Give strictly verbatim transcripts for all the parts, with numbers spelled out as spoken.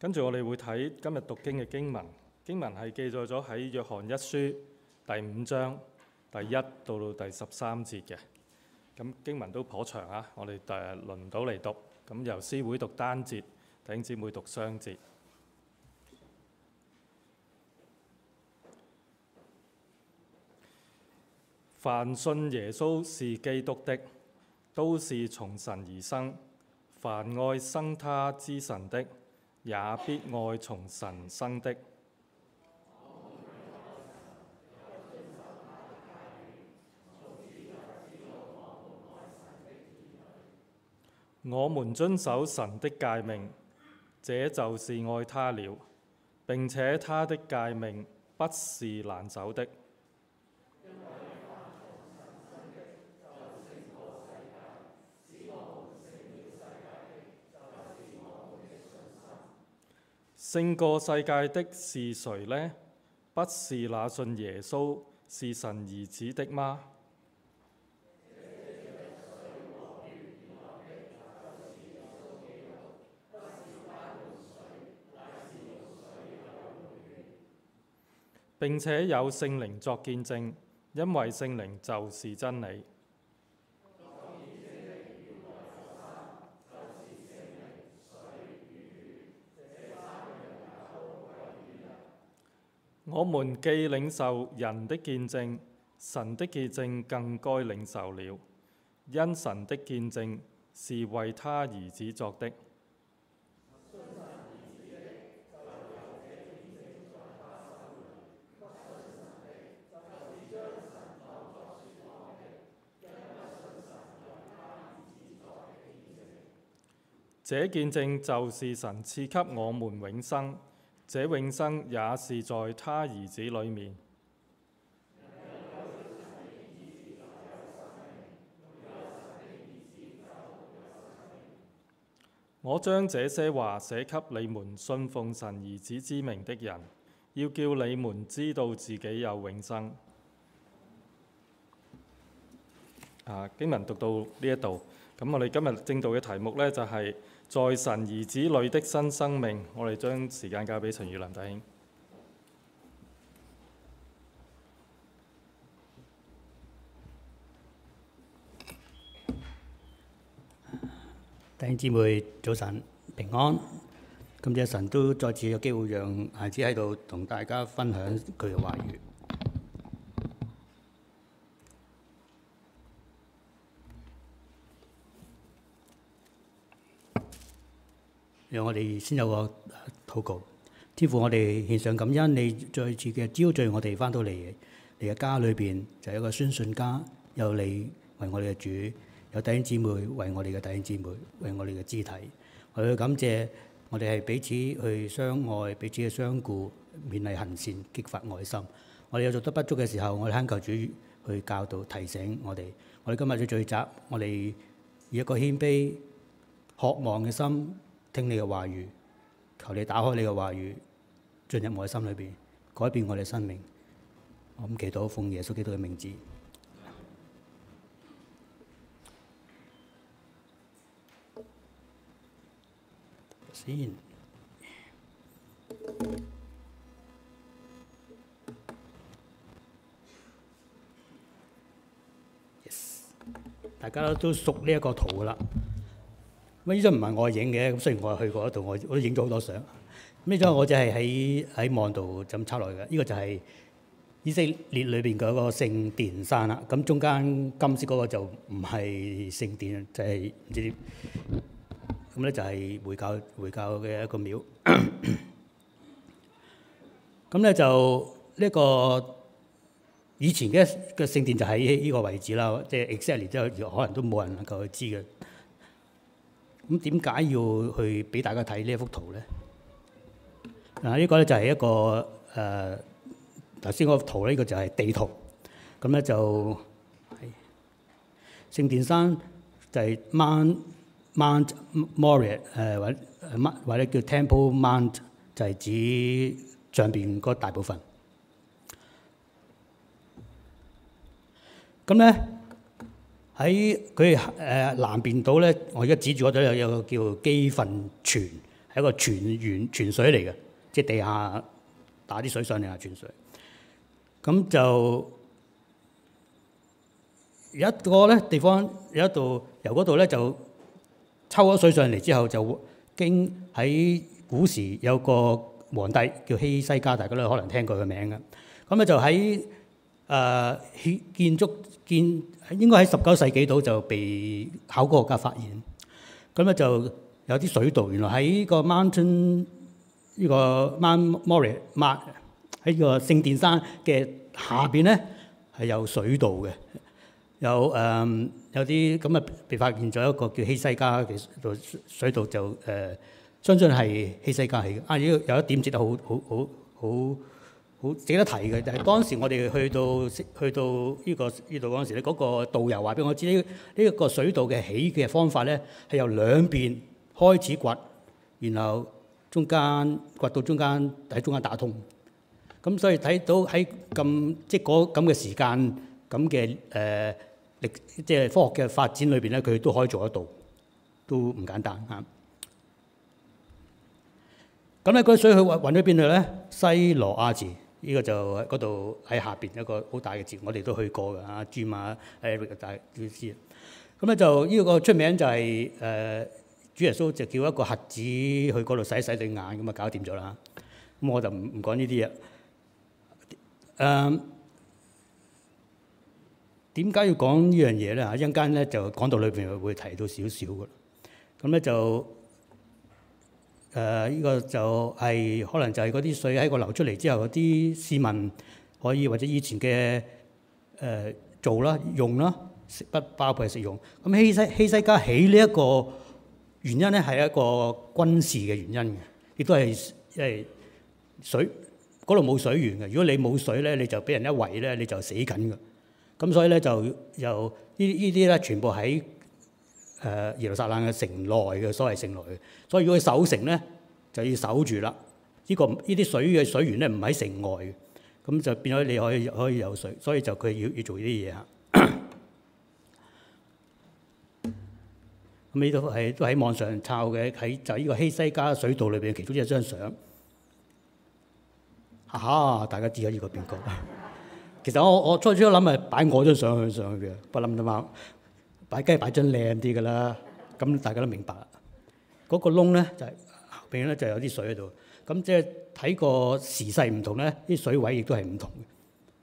跟住我哋會睇今日讀經嘅經文，經文係記載咗喺約翰一書第五章第一到到第十三節嘅。咁經文都頗長啊，我哋誒輪唔到嚟讀。咁由師會讀單節，弟兄姊妹讀雙節。凡信耶穌是基督的，都是從神而生；凡愛生他之神的，也必愛從神生的。我們遵守神的誡命，這就是愛他了。並且他的誡命不是難守的。勝過世界的是誰呢？不是那信耶穌是神兒子的嗎？並且有聖靈作見證，因為聖靈就是真理。我們既領受人的見證，神的見證更該領受了，因神的見證是為他兒子作的。這見證就是神賜給我們永生，這永生也是在他兒子裏面。我將這些話寫給你們信奉神兒子之名的人，要叫你們知道自己有永生。啊，經文讀到呢一度，咁我哋今日正道嘅題目呢，就係、是、在神兒子裏的新生命。我哋將時間交俾陳宇林弟兄。 弟兄姊妹早晨平安，今日神都再次有機會讓孩子喺度同大家分享佢嘅話語。讓我哋先有個禱告。天父，我哋獻上感恩，你再次嘅招聚我哋翻到嚟你嘅家裏邊，就係一個宣信家，有你為我哋嘅主。有弟兄姊妹為我哋嘅弟兄姊妹，為我哋嘅肢體，我哋去感謝，我哋係彼此去相愛，彼此嘅相顧，勉勵行善，激發愛心。我哋有做得不足嘅時候，我哋懇求主去教導提醒我哋。我哋今日嘅聚集，我哋以一個謙卑、渴望嘅心聽你嘅話語，求你打開你嘅話語，進入我嘅心裏邊，改變我哋生命。我咁祈禱，奉耶穌基督嘅名字。先，yes，大家都熟呢一個圖噶啦。咁呢張唔係我影嘅，咁雖然我係去過嗰度，我我都影咗好多相。呢張我就係喺喺網度咁抄落嚟嘅。呢個就係以色列裏邊嗰個聖殿山啦。咁中間金色嗰個就唔係聖殿，就係唔知。咁咧就係回教回教嘅一個廟。咁咧就呢個以前嘅嘅聖殿就喺呢個位置啦，即係 exactly 即係可能都冇人能夠去知嘅。咁點解要去俾大家睇呢一幅圖咧？嗱，呢個咧就係一個誒頭先嗰幅圖咧，呢個就係地圖。咁咧就係聖殿山就係 Mount Mount Moriah 誒或者乜或者叫 Temple Mount， 就係指上邊嗰大部分。咁咧喺佢誒南邊島咧，我而家指住嗰度有有個叫基訓泉， 係一個泉源泉水嚟嘅，即係地下打啲水上嚟係泉水。咁就有一個咧地方有一度由嗰度咧就抽咗水上嚟之後，就經喺古時有個皇帝叫希西家，大家都可能聽過佢名嘅。咁咧就喺誒、呃、建築建應該喺十九世紀度就被考古學家發現。咁咧就有啲水道，原來喺個 mountain 呢個 Mount Moriah 喺個聖殿山嘅下邊咧係有水道嘅，有誒、呃、有啲咁啊被發現咗一個叫希西家嘅水道，就誒、呃、相信係希西家起嘅。啊，呢有一點值得好好好好好值得提嘅，就係、是、當時我哋去到去到呢、這個呢度嗰陣時咧，嗰、那個導遊話俾我知呢呢一個水道嘅起嘅方法咧係由兩邊開始掘，然後中間掘到中間喺中間打通。咁所以睇到喺咁即係嗰咁嘅時間咁嘅誒歷即係科學嘅發展裏邊咧，佢都可以做得到，都唔簡單嚇。咁咧嗰啲水去運運咗邊度咧？西羅亞池。呢個就喺嗰度喺下邊一個好大嘅池，我哋都去過㗎。阿 Jim 啊 ，Eric 大家都知。咁咧就呢個出名就係、是、誒、呃、主耶穌就叫一個瞎子去嗰度洗洗對眼，咁啊搞掂咗啦。咁我就唔唔講呢啲嘢。誒點解要講呢樣嘢咧？嚇，一陣間咧就講到裏邊會提到少少㗎。咁咧就。誒、呃、呢、這個就係、是、可能就係嗰啲水喺個流出嚟之後，嗰啲市民可以或者以前嘅誒、呃、做啦、用啦，食不包括係食用。咁希西希西家起呢一個原因咧，係一個軍事嘅原因嘅，亦都係因為水嗰度冇水源嘅。如果你冇水咧，你就俾人一圍咧，你就死緊㗎。咁所以咧就由呢呢啲咧全部喺誒、呃、耶路撒冷嘅城內嘅所謂城內嘅，所以如果佢守城咧，就要守住啦。呢、這個呢啲水嘅水源咧唔喺城外嘅，咁就變咗你可以可以有水，所以就佢要要做呢啲嘢嚇。咁呢度係都喺網上抄嘅，喺就呢個希西家水道裏邊其中一張相。哈哈，大家知咗呢個邊個？其實我我初初諗係擺我張相去上去嘅，不諗啫嘛。擺雞擺張靚啲㗎啦，咁大家都明白啦。嗰、那個窿咧就係後邊咧就有啲水喺度，咁即係睇個時勢唔同咧，啲水位亦都係唔同嘅。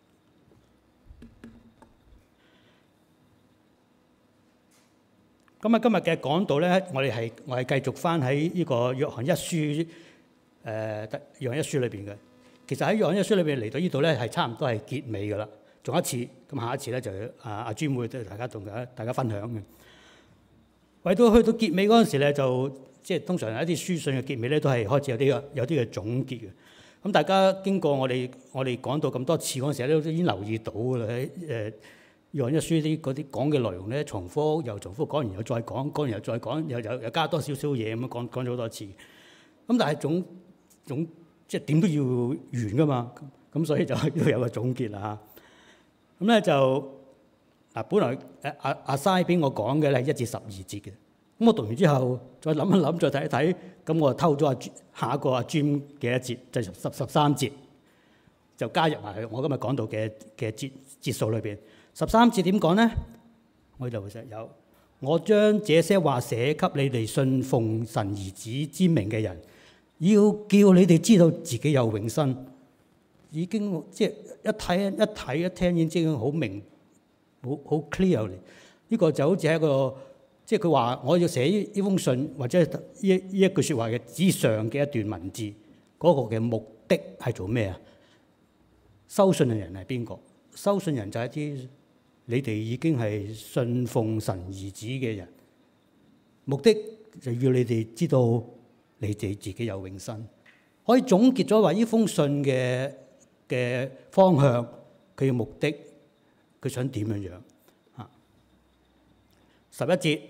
咁啊，今日嘅講道咧，我哋係我係繼續翻喺呢個約翰一書誒、呃、約翰一書裏邊嘅。其實喺約翰一書裏邊嚟到呢度咧，係差唔多係結尾㗎啦。仲有一次，咁下一次咧就阿阿專會都大家同大家大家分享嘅。為到去到結尾嗰陣時咧，就即係通常有一啲書信嘅結尾咧，都係開始有啲有啲嘅總結嘅。咁大家經過我哋我哋講到咁多次嗰陣時咧，都已經留意到㗎啦。喺誒約翰一書啲嗰啲講嘅內容咧，重複又重複，講完又再講，講完又再講，又又又加多少少嘢咁樣講講咗好多次。咁但係總總即係點都要完㗎嘛。咁所以就要有個總結啦。咁咧就嗱，本來誒阿阿嘥俾我講嘅咧係一至十二節嘅。咁我讀完之後，再諗一諗，再睇一睇，咁我就偷咗阿下一個阿 Jim 嘅一節，就十十三節，就加入埋我今日講到嘅嘅節節數裏邊。十三節點講咧？我就會有我將這些話寫給你哋信奉神兒子之名嘅人，要叫你哋知道自己有永生。已經即係一睇一睇一聽已經好明，好好 clear 嚟。呢個就好似係一個即係佢話我要寫呢封信或者呢呢一句説話嘅之上嘅一段文字，嗰、那個嘅目的係做咩啊？收信嘅人係邊個？收信人就係一啲你哋已經係信奉神兒子嘅人，目的就要你哋知道你哋自己有永生。可以總結咗話呢封信嘅嘅方向，佢嘅目的，佢想點樣樣啊？十一節，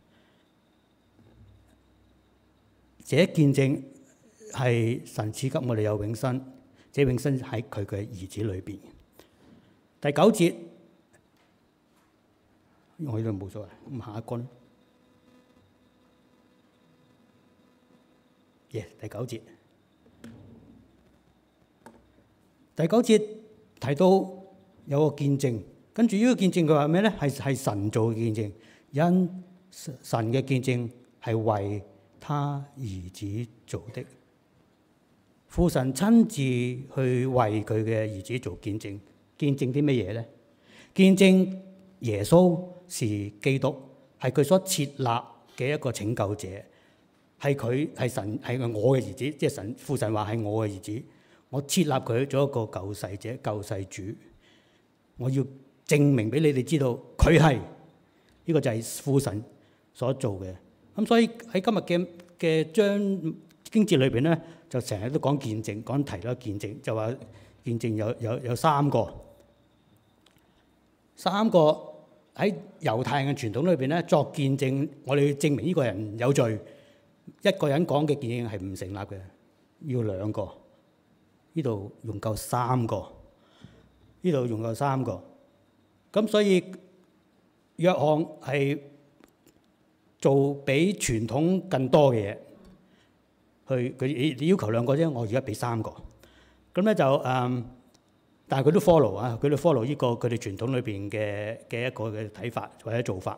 這見證係神賜給我哋有永生，這永生喺佢嘅兒子裏邊。第九節，我呢度冇所謂，咁下一個咧。 耶、yeah, 第九節。第九節提到有個見證，跟住呢個見證佢話咩咧？係係神做嘅見證，因神嘅見證係為他兒子做的。父神親自去為佢嘅兒子做見證，見證啲乜嘢咧？見證耶穌是基督，係佢所設立嘅一個拯救者，係佢係神係我嘅兒子，即係神父神話係我嘅兒子，我設立佢做一個救世者、救世主，我要證明俾你哋知道佢係呢個就係父神所做嘅。咁所以喺今日嘅嘅章經節裏邊咧，就成日都講見證，講提啦見證，就話見證有有有三個，三個喺猶太人嘅傳統裏邊咧作見證，我哋要證明呢個人有罪，一個人講嘅見證係唔成立嘅，要兩個。呢度用夠三個，呢度用夠三個，咁所以約翰係做比傳統更多嘅嘢，去佢你要求兩個啫，我而家俾三個，咁咧就誒、嗯，但係佢都 follow 啊，佢都 follow 呢個佢哋傳統裏邊嘅嘅一個嘅睇法或者做法，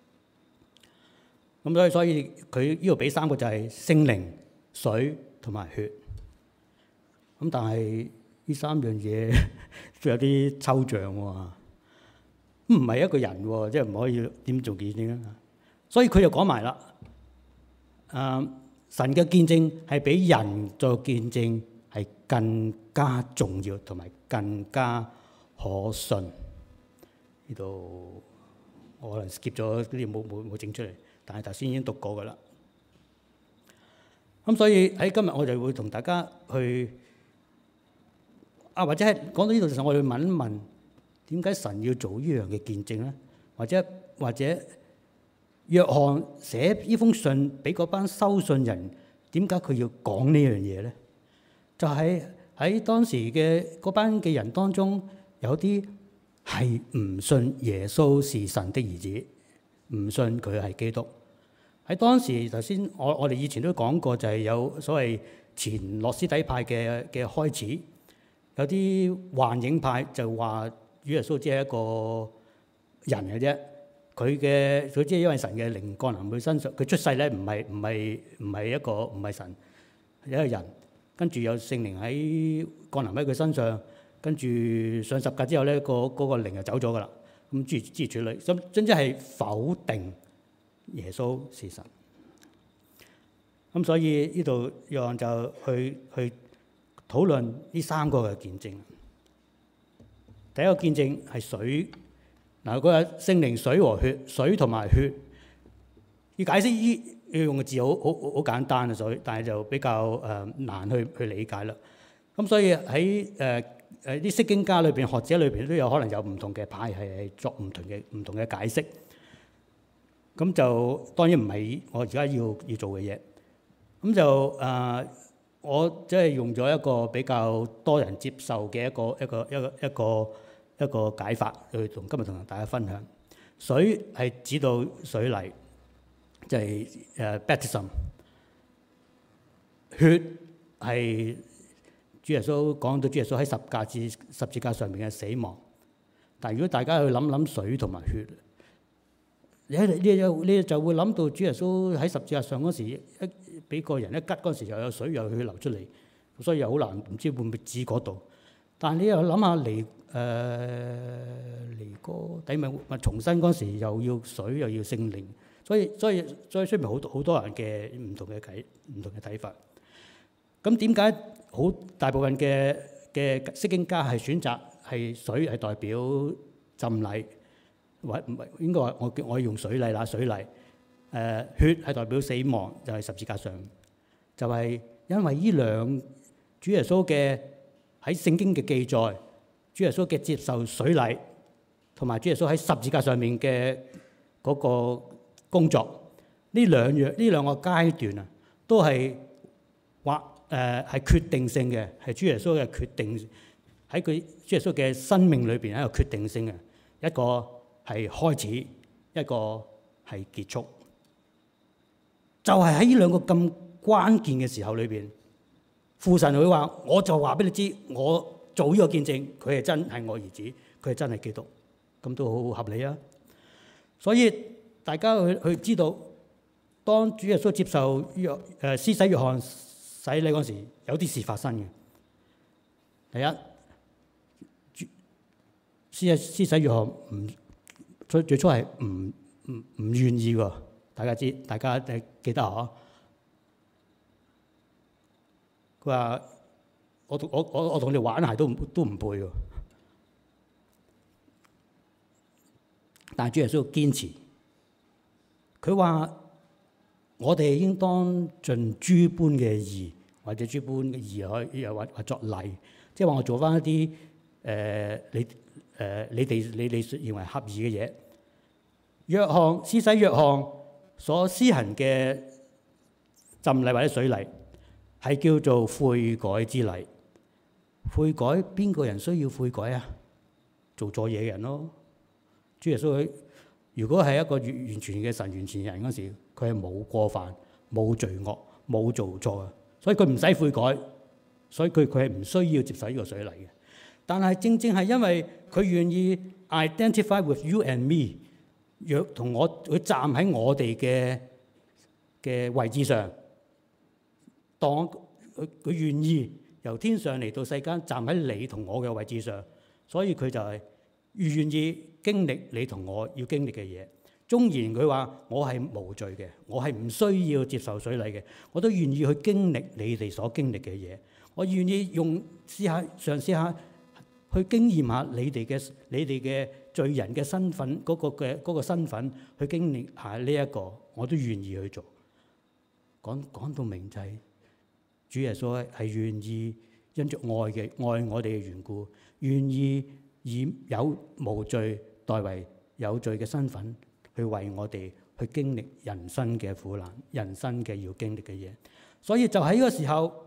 咁所以所以佢呢度俾三個就係聖靈、水同埋血。咁但係呢三樣嘢都有啲抽象喎，唔係一個人喎，即係唔可以點做見證啊？所以佢就講埋啦，誒神嘅見證係比人做見證係更加重要同埋更加可信。呢度我可能 skip 咗啲冇冇冇整出嚟，但係頭先已經讀過㗎啦。咁所以喺今日我就會同大家去。啊，或者係講到呢度嘅時候，我哋問一問點解神要做呢樣嘅見證咧？或者或者約翰寫呢封信俾嗰班收信人，點解佢要講呢樣嘢咧？就係、是、喺當時嘅嗰班嘅人當中，有啲係唔信耶穌是神的兒子，唔信佢係基督。喺當時頭先我我哋以前都講過，就係有所謂前諾斯底派嘅嘅開始。有啲幻影派就話主耶穌只係一個人嘅啫，佢嘅佢只係因為神嘅靈降臨佢身上，佢出世咧唔係唔係唔係一個唔係神，係一個人，跟住有聖靈喺降臨喺佢身上，跟住上十架之後咧，個嗰個靈就走咗噶啦。咁諸如諸如此類，咁真真係否定耶穌是神。咁所以呢度約翰就去去。討論呢三個嘅見證。第一個見證係水，嗱佢話聖靈、水和血，水同埋血。要解釋呢要用嘅字好好好簡單啊，所以但係就比較誒、呃、難去去理解啦。咁所以喺誒誒啲釋經家裏邊、學者裏邊都有可能有唔同嘅派系係作唔同嘅唔同嘅解釋。咁就當然唔係我而家要要做嘅嘢。咁就誒。呃我即係用咗一個比較多人接受嘅一個一個一個一個一個解法去同今日同大家分享。水係指到水禮，就係誒 baptism。血係主耶穌講到主耶穌喺十架至十字架上面嘅死亡。但係如果大家去諗諗水同埋血，你你就你就會諗到主耶穌喺十字架上嗰時一俾個人一吉嗰時又有水又有血流出嚟，所以又好難唔知會唔會指嗰度。但係你又諗下尼誒尼哥底米咪重生嗰時又要水又要聖靈，所以所以所以出面好多好多人嘅唔同嘅睇唔同嘅睇法。咁點解好大部分嘅嘅釋經家係選擇係水係代表浸禮？或唔係應該話我我用水禮啦，水禮誒、呃、血係代表死亡，就係、是、十字架上，就係、是、因為呢兩主耶穌嘅喺聖經嘅記載，主耶穌嘅接受水禮，同埋主耶穌喺十字架上面嘅嗰個工作，呢兩樣呢兩個階段啊，都係或誒係決定性嘅，係主耶穌嘅決定喺佢主耶穌嘅生命裏邊係一個決定性嘅一個。係開始，一個係結束，就係喺呢兩個咁關鍵嘅時候裏邊，父神會話：我就話俾你知，我做呢個見證，佢係真係我兒子，佢係真係基督，咁都好合理啊！所以大家去去知道，當主耶穌接受約誒施洗約翰洗禮嗰時，有啲事發生嘅。第一，施施洗約翰唔最最初係唔唔唔願意喎，大家知，大家誒記得嗬？佢話：我我我我同你玩鞋都唔都唔背喎。但係主耶穌堅持，佢話：我哋應當盡諸般嘅義，或者諸般嘅義可以又或或作禮，即係話我做翻一啲誒、呃、你誒、呃、你哋你哋認為合意嘅嘢。約翰施洗約翰所施行嘅浸禮或者水禮，係叫做悔改之禮。悔改，邊個人需要悔改啊？做錯嘢嘅人咯。主耶穌佢如果係一個完完全嘅神、完全人嗰時，佢係冇過犯、冇罪惡、冇做錯嘅，所以佢唔使悔改，所以佢佢係唔需要接受呢個水禮嘅。但係正正係因為佢願意 identify with you and me， 若同我佢站喺我哋嘅嘅位置上，當佢佢願意由天上嚟到世間，站喺你同我嘅位置上，所以佢就係願意經歷你同我要經歷嘅嘢。縱然佢話我係無罪嘅，我係唔需要接受水禮嘅，我都願意去經歷你哋所經歷嘅嘢。我願意用試下嘗試下去經驗下你哋嘅你哋嘅罪人嘅身份嗰、嗰個嘅嗰、嗰個身份，去經歷下呢、這、一個，我都願意去做。講講到明就係、是、主耶穌係願意因着愛嘅愛我哋嘅緣故，願意以有無罪代為有罪嘅身份，去為我哋去經歷人生嘅苦難、人生嘅要經歷嘅嘢。所以就喺呢個時候，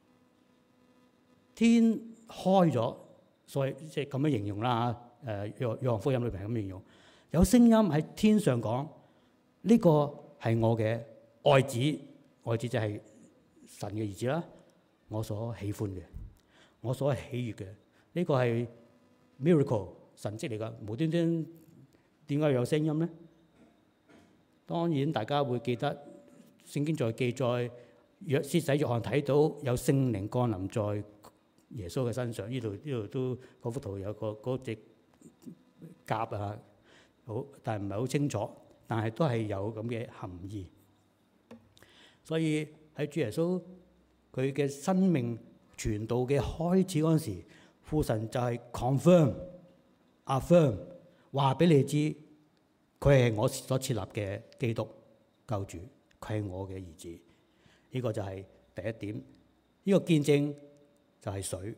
天開咗，所以即係咁樣形容啦。誒約約翰福音裏邊係咁形容，有聲音喺天上講：呢個係我嘅愛子，愛子就係神嘅兒子啦。我所喜歡嘅，我所喜悅嘅，呢個係 miracle 神蹟嚟㗎。無端端點解有聲音咧？當然大家會記得聖經在記載，約施洗約翰睇到有聖靈降臨在耶穌嘅身上。呢度呢度都嗰幅圖有個嗰隻鴿啊，好，但係唔係好清楚，但係都係有咁嘅含義。所以喺主耶穌佢嘅生命傳道嘅開始嗰陣時，父神就係 confirm、affirm 話俾你知，佢係我所設立嘅基督救主，佢係我嘅兒子。呢、這個就係第一點。呢、這個見證就係水。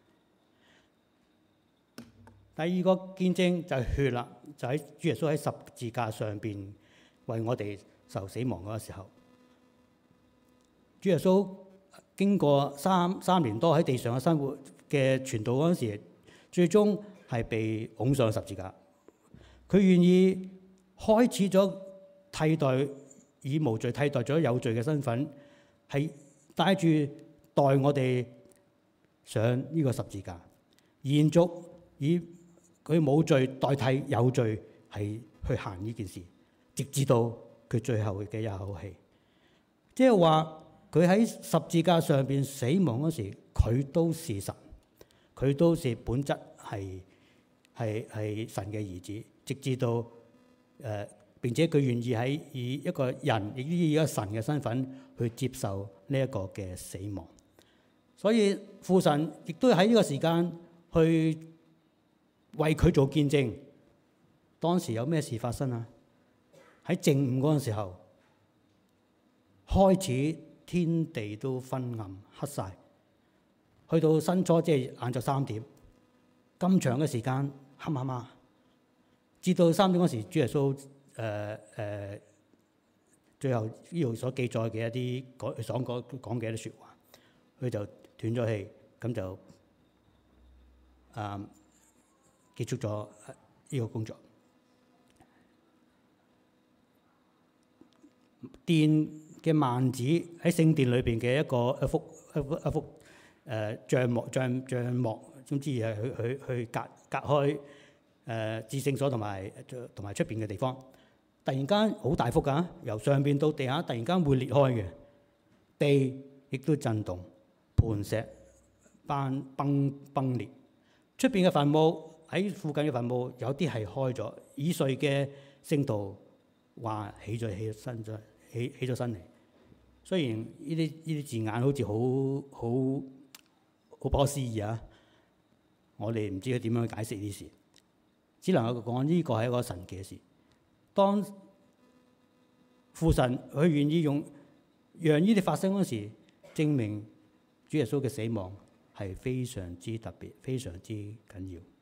第二個見證就係血啦，就喺主耶穌喺十字架上邊為我哋受死亡嗰個時候，主耶穌經過三三年多喺地上嘅生活嘅傳道嗰陣時，最終係被拱上十字架。佢願意開始咗替代以無罪替代咗有罪嘅身份，係帶住代我哋上呢個十字架，延續以佢冇罪代替有罪，係去行呢件事，直至到佢最後嘅一口氣。即係話佢喺十字架上邊死亡嗰時，佢都是神，佢都是本質係係係神嘅兒子，直至到誒、呃、並且佢願意喺以一個人亦以一個神嘅身份去接受呢一個嘅死亡。所以父神亦都喺呢個時間去為佢做見證。當時有咩事發生啊？喺正午嗰陣時候，開始天地都昏暗黑晒，去到申初即係晏晝三點，咁長嘅時間黑麻麻，至到三點嗰時，主耶穌誒誒最後呢度所記載嘅一啲講所講講嘅一啲説話，佢就斷咗氣，咁就啊結束咗呢個工作。殿嘅幔子喺聖殿裏邊嘅一個一幅一幅一幅誒帳幕帳帳幕，總之係去去去隔隔開誒至聖所同埋同埋出邊嘅地方。突然間好大幅㗎，由上邊到地下突然間會裂開嘅，地亦都震動，磐石崩崩崩裂。出邊嘅墳墓喺附近嘅墳墓有啲係開咗，已睡嘅聖徒話起咗起身咗起起咗身嚟。雖然呢啲呢啲字眼好似好好好不可思議啊，我哋唔知佢點樣去解釋呢啲事，只能夠講呢個係一個神奇嘅事。當父神佢願意用讓呢啲發生嗰時，證明主耶穌嘅死亡係非常之特別、非常之緊要。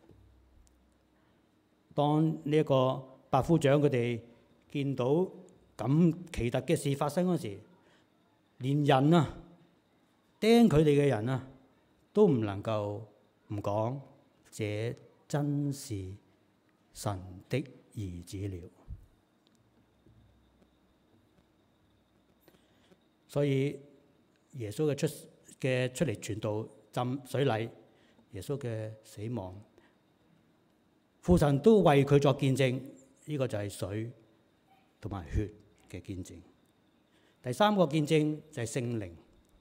當呢一個百夫長佢哋見到咁奇特嘅事發生嗰時，連人啊釘佢哋嘅人啊都唔能夠唔講，這真是神的兒子了。所以耶穌嘅出嘅出嚟傳道、浸水禮、耶穌嘅死亡，父神都為佢作見證。呢個就係水同埋血嘅見證。第三個見證就係聖靈。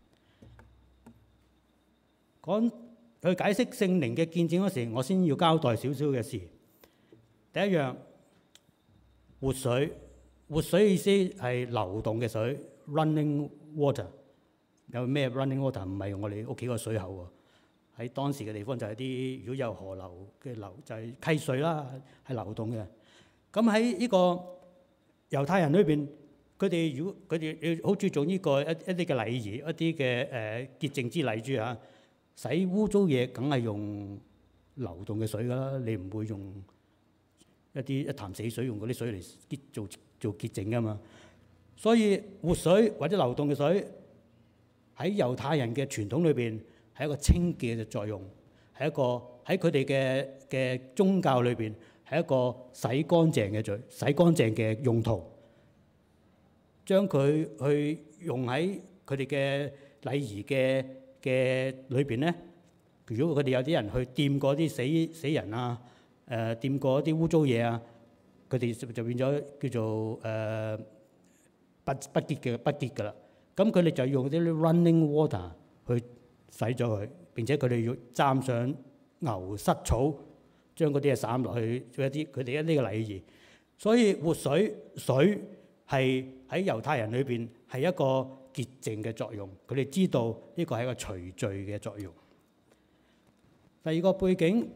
講去解釋聖靈嘅見證嗰時，我先要交代少少嘅事。第一樣，活水，活水意思係流動嘅水 ，running water。有咩 running water？ 唔係我哋屋企個水口喎。喺當時嘅地方就係啲如果有河流嘅流，就係溪水啦，係流動嘅。咁喺呢個猶太人裏邊，佢哋如果佢哋好注重呢個一一啲嘅禮儀，一啲嘅誒潔淨之禮珠啊，洗污糟嘢梗係用流動嘅水㗎啦，你唔會用一啲一潭死水，用嗰啲水嚟潔做做潔淨㗎嘛。所以活水或者流動嘅水喺猶太人嘅傳統裏邊係一個清潔嘅作用，係一個喺佢哋嘅嘅宗教裏邊係一個洗乾淨嘅罪，洗乾淨嘅用途，將佢去用喺佢哋嘅禮儀嘅嘅裏邊咧。如果佢哋有啲人去掂過啲死死人啊，誒掂過啲污糟嘢啊，佢哋就變咗叫做誒、呃、不不潔嘅不潔㗎啦。咁佢哋就用啲 running water 去洗咗佢，並且佢哋要沾上牛膝草，將嗰啲嘢灑落去做一啲佢哋一啲嘅禮儀。所以活水水係喺猶太人裏邊係一個潔淨嘅作用，佢哋知道呢個係一個除罪嘅作用。第二個背景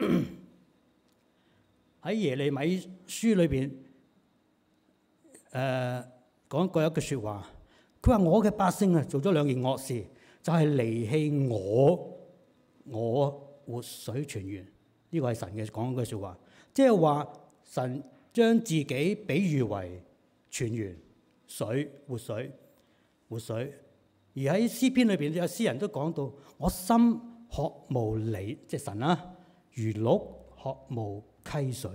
喺耶利米書裏邊誒講過一句説話，佢話我嘅百姓啊做咗兩件惡事，就係、是、離棄我，我活水泉源。呢、這個係神嘅講嘅説話，即係話神將自己比喻為泉源、水、活水、活水。而喺詩篇裏邊有詩人都講到，我心渴慕你，即係神啦、啊，如鹿渴慕溪水。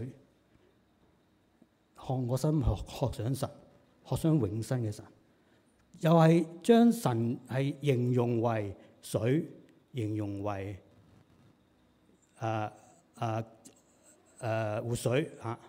看我心渴渴想神，渴想永生嘅神。又係將神係形容為水，形容為誒誒誒活水嚇、啊。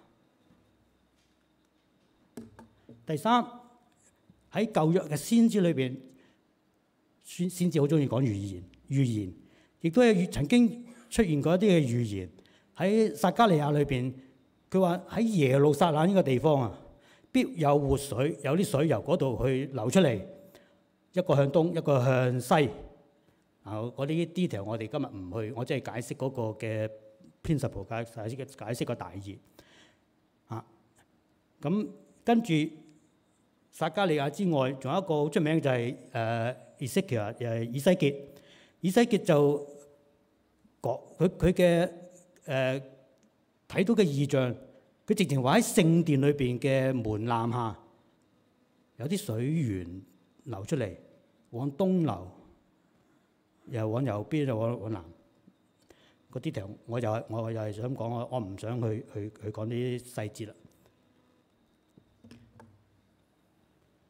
第三，喺舊約嘅先知裏邊，先先知好中意講預言，預言亦都係曾經出現過一啲嘅預言。喺撒迦利亞裏邊，佢話喺耶路撒冷呢個地方啊，必有活水，有啲水由嗰度去流出嚟，一個向東，一個向西。啊，嗰啲 detail 我哋今日唔去，我即係解釋嗰個嘅 principle， 解解釋解釋個大意。啊，咁跟住撒迦利亞之外，仲有一個好出名就係誒以西結，誒以西結。以西結就講佢佢嘅誒睇到嘅異象，佢直情話喺聖殿裏邊嘅門檻下有啲水源流出嚟，往東流，又往右邊，又往往南。嗰啲條我又係我又係想講，我我唔想去去去講啲細節啦。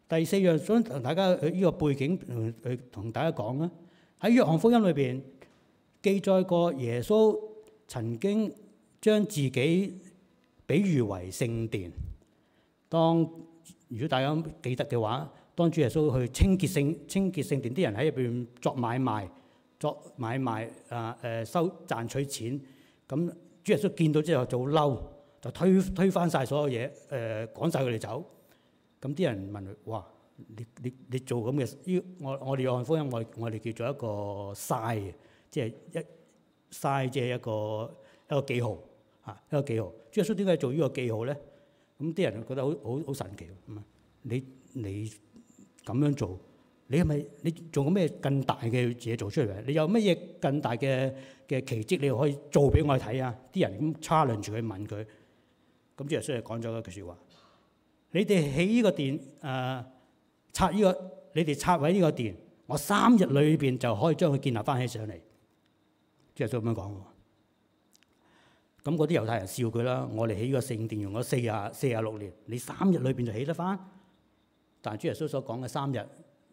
第四樣想同大家呢個背景去同大家講啦。喺約翰福音裏邊記載過耶穌曾經將自己比喻為聖殿。當如果大家記得嘅話，當主耶穌去清潔聖清潔聖殿，啲人喺入邊作買賣、作買賣啊誒收賺取錢。咁主耶穌見到之後就好嬲，就推推翻晒所有嘢，誒趕晒佢哋走。咁啲人問佢：哇！你你你做咁嘅，呢我我哋約翰福音我我哋叫做一個嘥嘅，即係一嘥即係一個一個記號嚇，一個記號。主耶穌點解做呢個記號咧？咁啲人覺得好好好神奇。咁啊，你你咁樣做，你係咪你做過咩更大嘅嘢做出嚟？你有乜嘢更大嘅嘅奇蹟你可以做俾我哋睇啊？啲人咁 challenge 住佢問佢，咁主耶穌就講咗一句説話：你哋起呢個殿誒。呃拆呢、這個，你哋拆毀呢個殿，我三日裏邊就可以將佢建立翻起上嚟。主耶穌咁樣講喎。咁嗰啲猶太人笑佢啦。我哋起呢個聖殿用咗四啊四啊六年，你三日裏邊就起得翻？但係主耶穌所講嘅三日，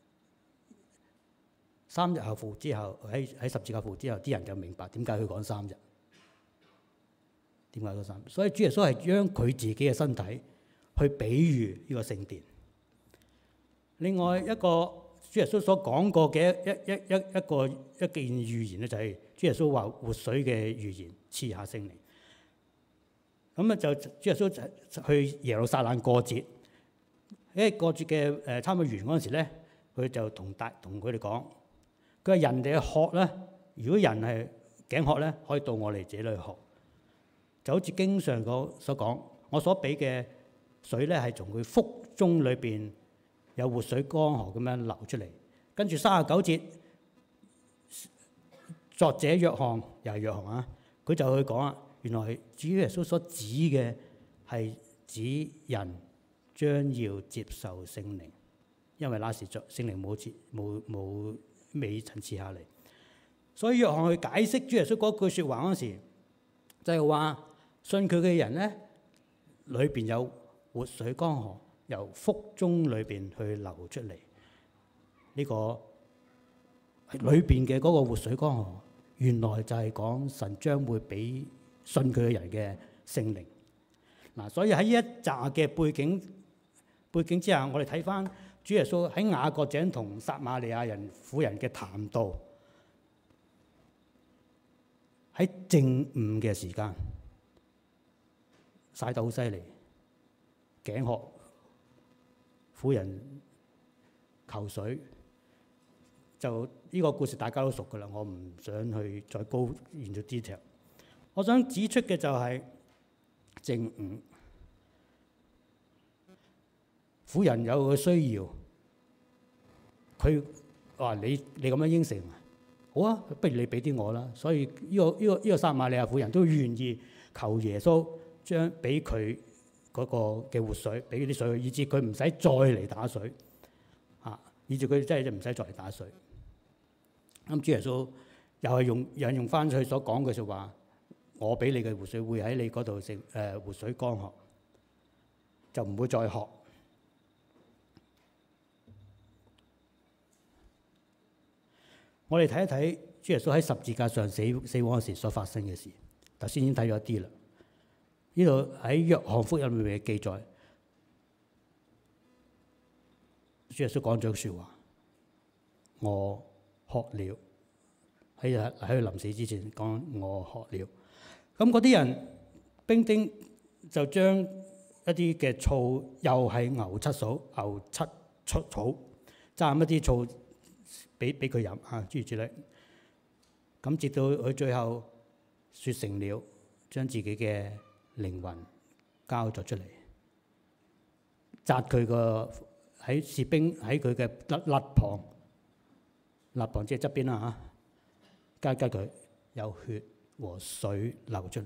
三日後復之後，喺喺十字架復活之後，啲人就明白點解佢講三日。點解講三日？所以主耶穌係將佢自己嘅身體去比喻呢個聖殿。另外一個主耶穌所講過嘅一一一一個一件預言咧，就係主耶穌話活水嘅預言，賜下聖靈。咁啊就主耶穌去耶路撒冷過節，喺過節嘅誒差唔多完嗰陣時咧，佢就同大同佢哋講，佢話人哋嘅渴咧，如果人係頸渴咧，可以到我哋這裏學，就好似經上個所講，我所俾嘅水咧係從佢腹中裏邊。有活水江河咁樣流出嚟，跟住三十九節，作者約翰又係約翰啊，佢就去講啊，原來主耶穌所指嘅係指人將要接受聖靈，因為那時作聖靈冇賜冇冇未曾賜下嚟，所以約翰去解釋主耶穌嗰句説話嗰時，就係話信佢嘅人咧，裏邊有活水江河。由腹中裏邊去流出嚟，呢、這個裏邊嘅嗰個活水江河，原來就係講神將會俾信佢嘅人嘅聖靈。嗱，所以喺呢一紮嘅背景背景之下，我哋睇翻主耶穌喺雅各井同撒瑪利亞人婦人嘅談道，喺正午嘅時間曬得好犀利，頸渴。婦人求水，就呢個故事大家都熟噶啦，我唔想去再高言咗 detail。我想指出嘅就係正午，婦人有個需要，佢話你你咁樣應承，好啊，不如你俾啲我啦。所以呢個呢個呢個撒瑪利亞婦人都願意求耶穌將俾佢。嗰個嘅活水，俾啲水，以致佢唔使再嚟打水，嚇！以致佢真係唔使再嚟打水。咁主耶穌又係用引用翻佢所講嘅説話，我俾你嘅活水會喺你嗰度成誒活水江河，就唔會再渴。我哋睇一睇主耶穌喺十字架上死死亡嗰時所發生嘅事，頭先已經睇咗一啲啦。呢度喺約翰福音裏面嘅記載，主耶穌講咗句説話：我渴了。喺喺佢臨死之前講我渴了。咁嗰啲人兵丁就將一啲嘅醋，又係牛七嫂、牛七出草，蘸一啲醋俾俾佢飲嚇，諸如此類。咁直到佢最後説成了，將自己嘅靈魂交咗出嚟，扎佢個喺士兵喺佢嘅肋肋旁，肋旁即係側邊啦嚇，加加佢有血和水流出嚟。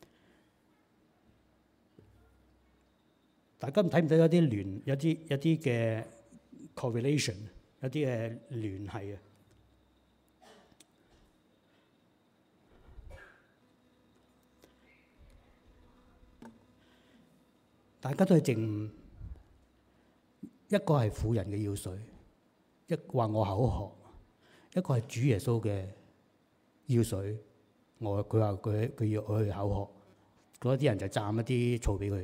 大家睇唔睇到有啲聯有啲有啲嘅 correlation， 有啲嘅聯繫啊？大家都係正午， 一個係婦人嘅要水，一話我口渴；一個係主耶穌嘅要水，我佢話佢佢要我去口渴，嗰啲人就蘸一啲醋俾佢。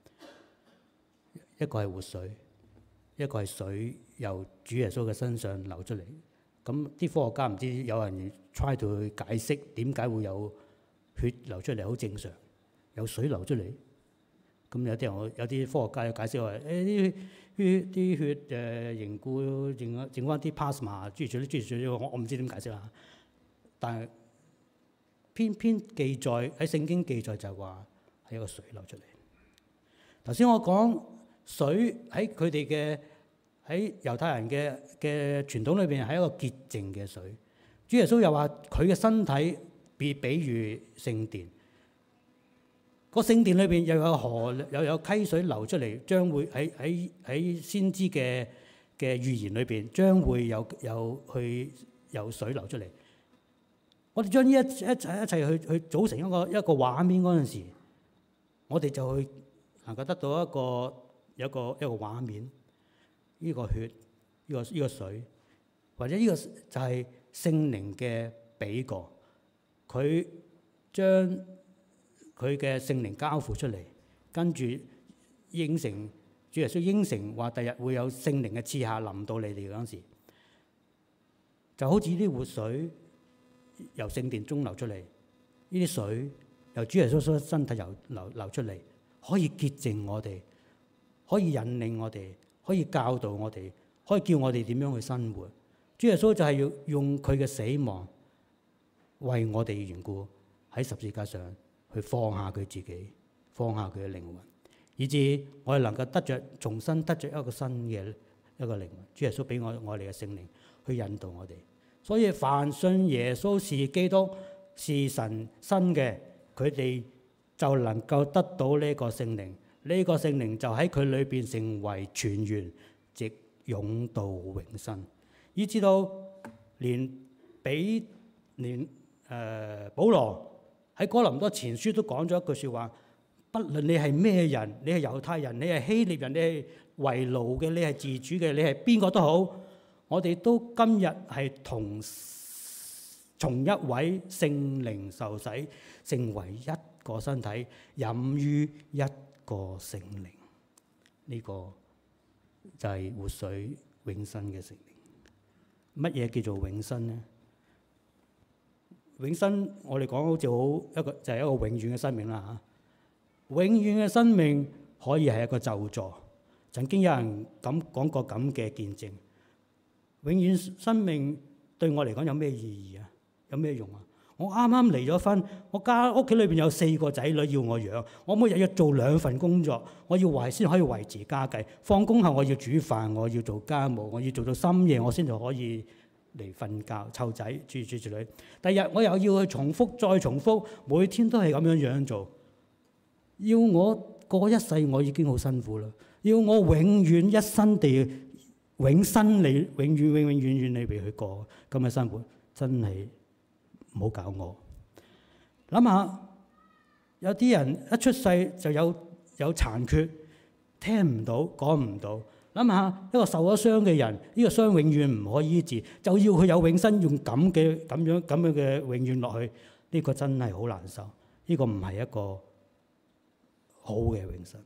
一個係活水，一個係水由主耶穌嘅身上流出嚟。咁啲科學家唔知有人 try 到去解釋點解會有血流出嚟，好正常，有水流出嚟。咁有啲人我有啲科學家有解釋話：誒啲血啲血誒凝固，剩剩翻啲 plasma， 諸如此類諸如此類，我我唔知點解釋啦。但係偏偏記載喺聖經記載就係話係一個水流出嚟。頭先我講水喺佢哋嘅喺猶太人嘅嘅傳統裏邊係一個潔淨嘅水。主耶穌又話佢嘅身體比比喻聖殿。個聖殿裏邊又有河，又有溪水流出嚟，將會喺喺喺先知嘅嘅預言裏邊，將會有有去有水流出嚟。我哋將呢一一切一切去去組成一個一個畫面嗰陣時，我哋就會能夠得到一個有一個一個畫面。呢個血，呢個呢個水，或者呢個就係聖靈嘅比過，佢將佢嘅聖靈交付出嚟，跟住應承主耶穌應承話，第日會有聖靈嘅賜下臨到你哋嗰陣時，就好似啲活水由聖殿中流出嚟，呢啲水由主耶穌身體流流流出嚟，可以潔淨我哋，可以引領我哋，可以教導我哋，可以叫我哋點樣去生活。主耶穌就係要用佢嘅死亡為我哋嘅緣故喺十字架上去放下佢自己，放下佢嘅靈魂，以致我哋能夠得着重新得着一個新嘅一個靈魂。主耶穌俾我我哋嘅聖靈去引導我哋。所以凡信耶穌是基督是神生嘅，佢哋就能夠得到呢個聖靈。呢個聖靈就喺佢裏邊成為泉源，直湧到永生。以至到連比連誒、呃、保羅喺哥林多前書都講咗一句説話：不論你係咩人，你係猶太人，你係希臘人，你係為奴嘅，你係自主嘅，你係邊個都好，我哋都今日係同從一位聖靈受洗，成為一個身體，飲於一個聖靈。呢、這個就係活水永生嘅聖靈。乜嘢叫做永生呢？永生我哋講好似好一個就係、是、一個永遠嘅生命啦嚇。永遠嘅生命可以係一個咒詛。曾經有人咁講過咁嘅見證。永遠生命對我嚟講有咩意義啊？有咩用啊？我啱啱離咗婚，我家屋企裏邊有四個仔女要我養，我每日要做兩份工作，我要維先可以維持家計。放工後我要煮飯，我要做家務，我要做到深夜，我先至可以嚟瞓覺湊仔，諸如此類。第日我又要去重複再重複，每天都係咁樣樣做。要我過一世，我已經好辛苦啦。要我永遠一生地永生你永遠永永遠遠你俾佢過咁嘅生活，真係〜唔好搞我。諗下，有啲人一出世就有有殘缺，聽唔到，講唔到。諗下一個受咗傷嘅人，呢個傷永遠唔可以醫治，就要佢有永生，用咁嘅咁樣咁樣嘅永遠落去，呢個真係好難受。呢個唔係一個好嘅永生。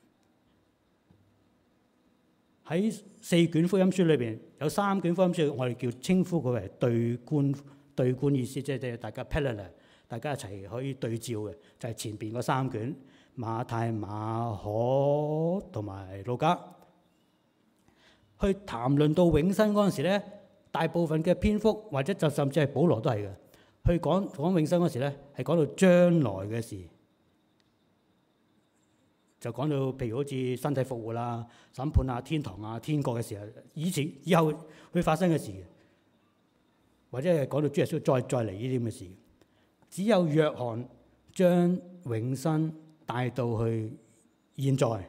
喺四卷福音書裏邊，有三卷福音書，我哋叫稱呼佢為對觀。對觀意思即係大家 parallel， 大家一齊可以對照嘅，就係、是、前邊嗰三卷馬太、馬可同埋路加。去談論到永生嗰陣時咧，大部分嘅篇幅或者就甚至係保羅都係嘅，去講講永生嗰時咧，係講到將來嘅事，就講到譬如好似身體復活啦、審判啊、天堂啊、天國嘅時候，以前以後會發生嘅事。或者係講到主耶穌再再嚟呢啲咁嘅事，只有約翰將永生帶到去現在。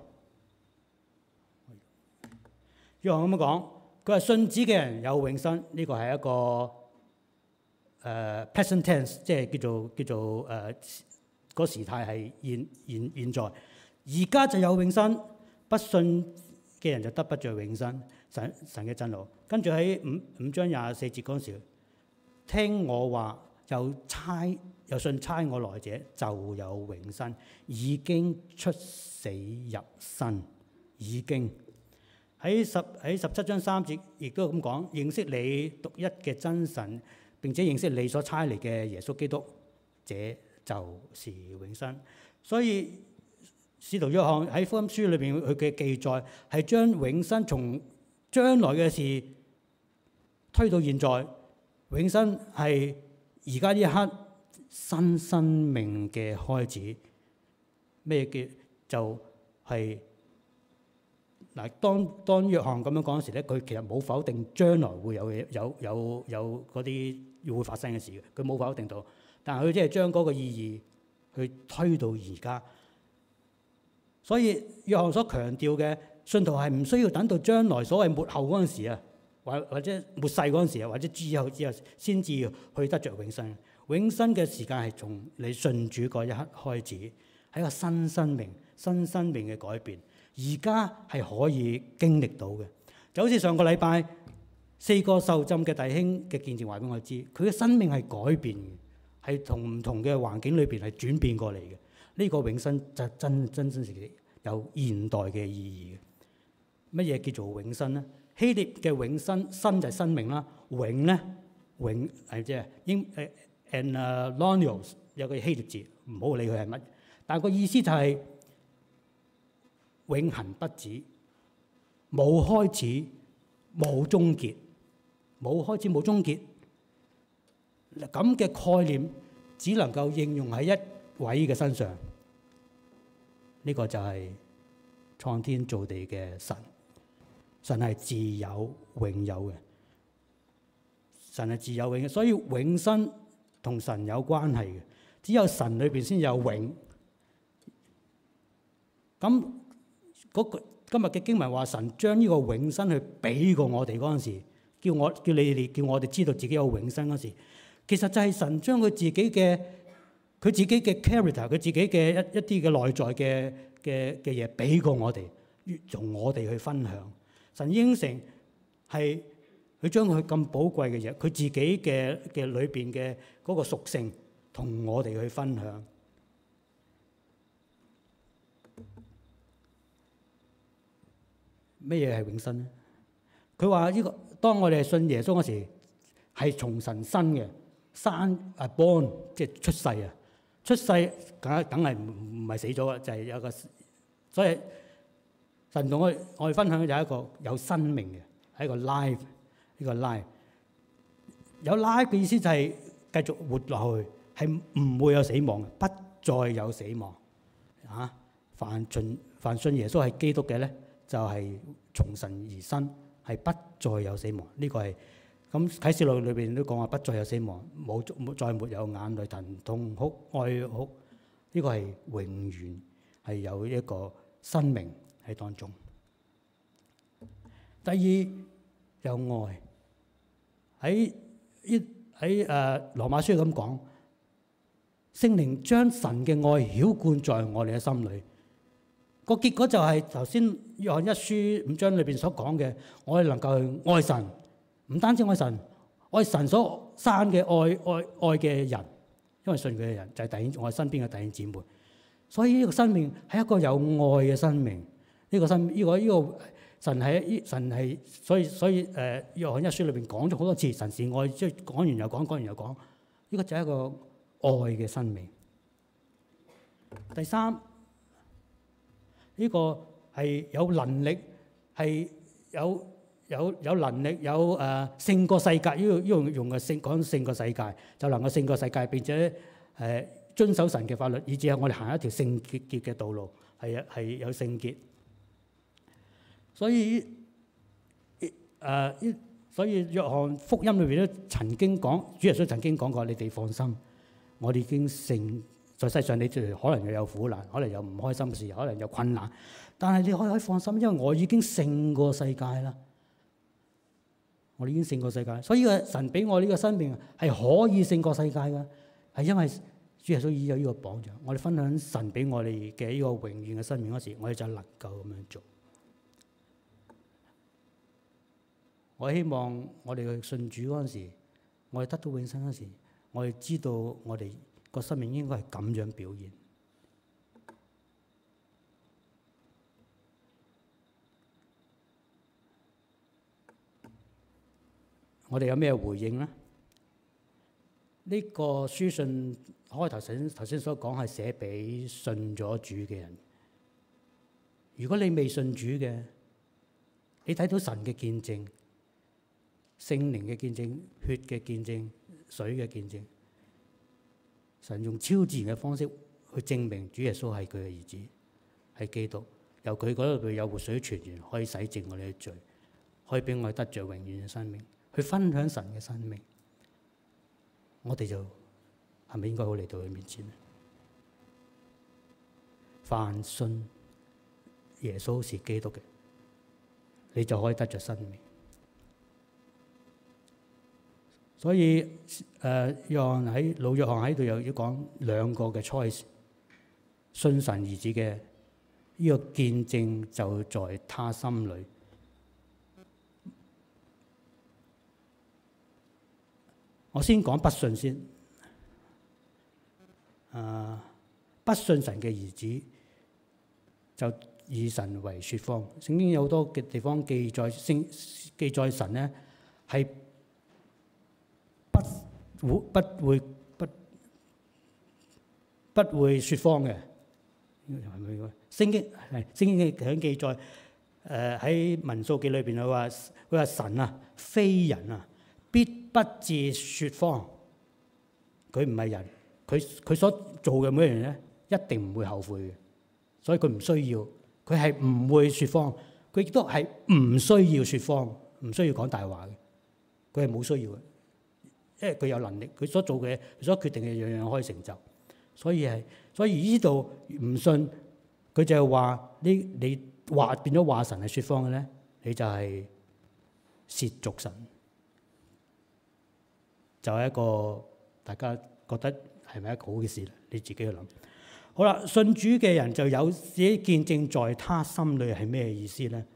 約翰咁樣講，佢話信子嘅人有永生，呢個係一個誒、uh, present tense， 即係叫做叫做誒、uh, 個時態係現現現在。而家就有永生，不信嘅人就得不着永生。神神嘅震怒。跟住喺五五章廿四節嗰陣時，聽我話又差又信差我來者就有永生，已經出死入生，已經喺十喺十七章三節亦都咁講，認識你獨一嘅真神，並且認識你所差嚟嘅耶穌基督，這就是永生。所以使徒約翰喺福音書裏邊佢嘅記載係將永生從將來嘅事推到現在，永生係而家呢一刻新生命嘅開始。咩叫就係、是、嗱？當當約翰咁樣講嗰時咧，佢其實冇否定將來會有有有有嗰啲會發生嘅事嘅，佢冇否定到，但係佢即係將嗰個意義去推到而家。所以約翰所強調嘅信徒係唔需要等到將來所謂末後嗰陣時啊，或或者末世嗰陣時啊，或者之後之後先至去得着永生。永生嘅時間係從你信主嗰一刻開始，係一個新生命、新生命嘅改變。而家係可以經歷到嘅，就好似上個禮拜四個受浸嘅弟兄嘅見證話俾我知，佢嘅生命係改變嘅，係同唔同嘅環境裏邊係轉變過嚟嘅。呢個永生就真真真實有現代嘅意義嘅。乜嘢叫做永生咧？希臘嘅永生，生就係生命啦，永咧永係即係英誒 anaionios 有個希臘字，唔好理佢係乜，但係個意思就係永恆不止，冇開始冇終結，冇開始冇終結。咁嘅概念只能夠應用喺一位嘅身上，呢、這個就係創天造地嘅神。神係自有永有嘅，神係自有永嘅，所以永生同神有關係嘅。只有神裏邊先有永。咁嗰個今日嘅經文話，神將呢個永生去俾過我哋嗰陣時，叫我叫你哋叫我哋知道自己有永生嗰時，其實就係神將佢自己嘅佢自己嘅 character，佢自己嘅一一啲嘅內在嘅嘅嘅嘢俾過我哋，同我哋去分享。神應承係佢將佢咁寶貴嘅嘢，佢自己嘅嘅裏邊嘅嗰個屬性，同我哋去分享。咩嘢係永生咧？佢話呢個當我哋信耶穌嗰時，係從神生嘅，生啊 born 即係出世啊，出世梗梗係唔唔係死咗啊，就係、是、有個所以。神同我我哋分享嘅就係一個有生命嘅，係一個 life， 呢個 life 有 life 嘅意思就係繼續活落去，係唔會有死亡，不再有死亡啊！凡信凡信耶穌係基督嘅咧，就係、是、從神而生，係不再有死亡。呢、這個係咁啟示錄裏邊都講話不再有死亡，冇冇再沒有眼淚、疼痛、哭、哀哭。呢、這個係永遠係有一個生命喺當中。第二有愛，喺呢喺誒羅馬書咁講，聖靈將神嘅愛澆灌在我哋嘅心裏。個結果就係頭先約翰一書五章裏邊所講嘅，我哋能夠去愛神，唔單止愛神，愛神所生嘅愛愛愛嘅人，因為信佢嘅人就係弟兄，我哋身邊嘅弟兄姊妹。所以呢個生命係一個有愛嘅生命。呢、這個生呢、這個呢、這個神係神係，所以所以誒約翰一書裏邊講咗好多次，神是愛，即係講完又講，講完又講。呢、這個就係一個愛嘅生命。第三，呢、這個係有能力，係有有有能力，有誒、呃、勝過世界。呢個用用嘅勝講勝過世界，就能夠勝過世界，並且誒、呃、遵守神嘅法律，以至係我哋行一條聖潔潔嘅道路，係係有聖潔。所以誒、呃，所以約翰福音裏邊都曾經講，主耶穌曾經講過：你哋放心，我哋已經勝在世上。你哋可能又有苦難，可能有唔開心嘅事，可能有困難，但係你可以可以放心，因為我已經勝過世界啦。我哋已經勝過世界，所以個神俾我呢個生命係可以勝過世界嘅，係因為主耶穌已經有呢個榜樣。我哋分享神俾我哋嘅呢個榮耀嘅生命嗰時，我哋就能夠咁樣做。 我希望我哋去信主嗰陣時，我哋得到永生嗰時，我哋知道我哋個生命應該係咁樣表現。我哋有咩回應呢？呢、這個書信開頭先頭先所講係寫俾信咗主嘅人。如果你未信主嘅，你睇到神嘅見證、聖靈嘅見證、血嘅見證、水嘅見證，神用超自然嘅方式去證明主耶穌係佢嘅兒子，係基督，由佢嗰度有活水泉源，可以洗淨我哋嘅罪，可以俾我哋得着永遠嘅生命，去分享神嘅生命。我哋就係咪應該好嚟到佢面前呢？凡信耶穌是基督嘅，你就可以得着生命。所以誒，約翰喺老約翰喺度又要講兩個嘅 choice， 信神兒子嘅呢個見證就在他心裏。我先講不信先。誒，不信神嘅兒子就以神為説謊。聖經有好多嘅地方記載，聖記載神咧係不會不會不不會説謊嘅。聖經係聖經嘅響記載，誒喺民數記裏邊佢話佢話神啊非人啊，必不致説謊。佢唔係人，佢佢所做嘅每樣嘢咧一定唔會後悔嘅，所以佢唔需要。佢係唔會説謊，佢亦都係唔需要説謊，唔需要講大話嘅。佢係冇需要嘅，因為佢有能力，佢所做嘅、佢所決定嘅樣樣可以成就。所以係，所以呢度唔信，佢就係話呢，你話變咗話神係説謊嘅咧，你就係褻瀆神，就係一個大家覺得係咪一個好嘅事咧？你自己去諗。好啦，信主嘅人就有自己見證在他心裏係咩意思咧？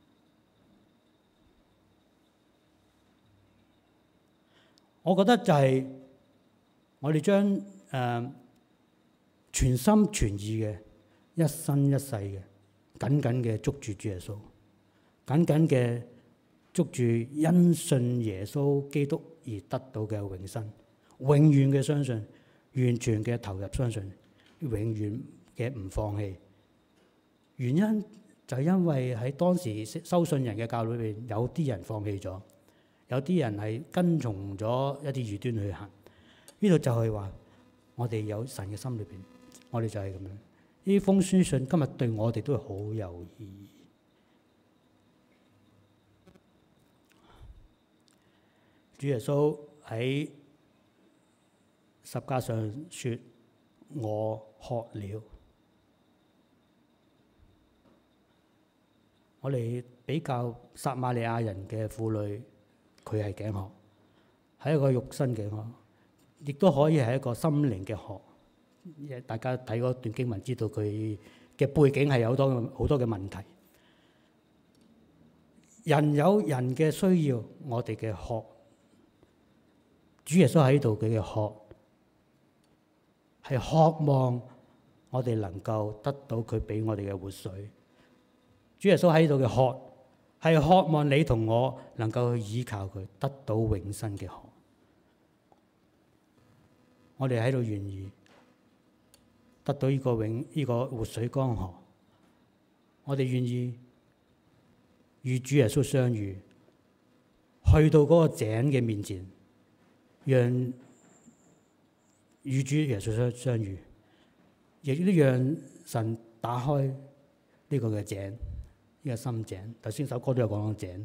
我覺得就係我哋將誒、呃、全心全意嘅一生一世嘅緊緊嘅捉住主耶穌，緊緊嘅捉住因信耶穌基督而得到嘅永生，永遠嘅相信，完全嘅投入相信。永遠嘅唔放棄，原因就係因為喺當時收信人嘅教裏邊，有啲人放棄咗，有啲人係跟從咗一啲異端去行。呢度就係話，我哋有神嘅心裏邊，我哋就係咁樣。呢封書信今日對我哋都係好有意義。主耶穌喺十架上説：我渴了。我哋比較撒瑪利亞人嘅婦女，佢係頸渴，係一個肉身頸渴，亦都可以係一個心靈嘅渴。大家睇嗰段經文，知道佢嘅背景係有好多好多嘅問題。人有人嘅需要，我哋嘅渴。主耶穌喺度，佢嘅渴係渴望我哋能夠得到佢俾我哋嘅活水。主耶穌喺度嘅渴係渴望你同我能夠去依靠佢，得到永生嘅渴。我哋喺度願意得到呢個永呢個活水江河，我哋願意與主耶穌相遇，去到嗰個井嘅面前，讓與主耶穌相相遇，亦都讓神打開呢個嘅井，呢個深井。頭先首歌都有講到井，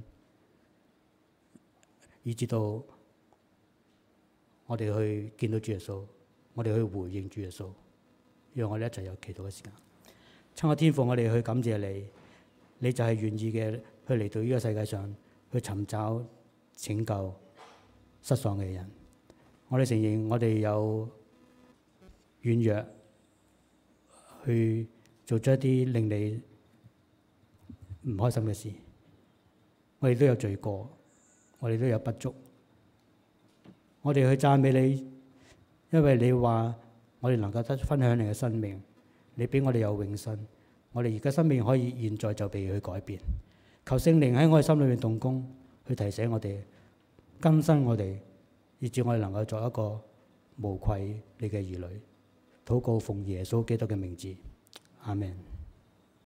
以至到我哋去見到主耶穌，我哋去回應主耶穌，讓我哋一齊有祈禱嘅時間。親愛天父，我哋去感謝你，你就係願意嘅去嚟到呢個世界上去尋找拯救失喪嘅人。我哋承認我哋有軟弱，去做咗一啲令你唔開心嘅事。我哋都有罪過， 我哋都有不足。我哋去讚美你，因為你話我哋能夠得分享你嘅生命，你俾我哋有永生。我哋而家生命可以現在就被佢改變。求聖靈喺我哋心裏面動工，去提醒我哋，更新我哋，以致我哋能夠作一個無愧你嘅兒女。禱告奉耶穌基督嘅名字，阿們。